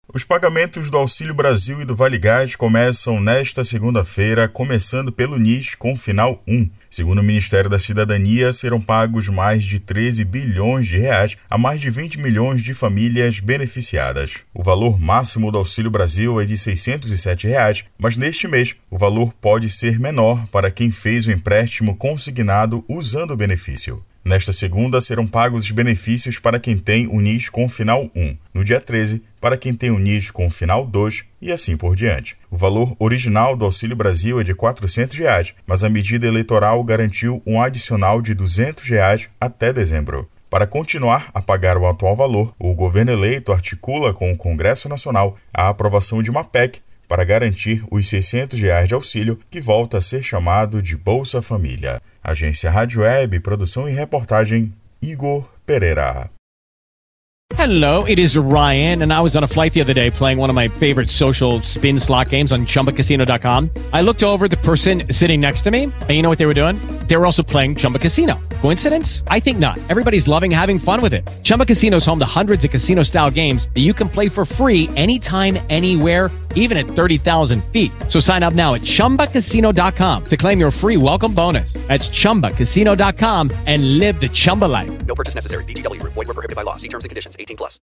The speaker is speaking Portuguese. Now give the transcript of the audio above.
Os pagamentos do Auxílio Brasil e do Vale Gás começam nesta segunda-feira, começando pelo NIS com final 1. Segundo o Ministério da Cidadania, serão pagos mais de 13 bilhões de reais a mais de 20 milhões de famílias beneficiadas. O valor máximo do Auxílio Brasil é de R$ 607, mas neste mês o valor pode ser menor para quem fez o empréstimo consignado usando o benefício. Nesta segunda, serão pagos os benefícios para quem tem o NIS com final 1. No dia 13, para quem tem o NIS com final 2 e assim por diante. O valor original do Auxílio Brasil é de R$ 400, mas a medida eleitoral garantiu um adicional de R$ 200 até dezembro. Para continuar a pagar o atual valor, o governo eleito articula com o Congresso Nacional a aprovação de uma PEC para garantir os R$ 600 de auxílio, que volta a ser chamado de Bolsa Família. Agência Rádio Web, produção e reportagem, Igor Pereira. Hello, it is Ryan, and I was on a flight the other day playing one of my favorite social spin slot games on ChumbaCasino.com. I looked over the person sitting next to me, and you know what they were doing? They were also playing Chumba Casino. Coincidence? I think not. Everybody's loving having fun with it. Chumba Casino is home to hundreds of casino-style games that you can play for free anytime, anywhere, even at 30,000 feet. So sign up now at ChumbaCasino.com to claim your free welcome bonus. That's ChumbaCasino.com and live the Chumba life. No purchase necessary. VGW. Void where prohibited by law. See terms and conditions. 18+.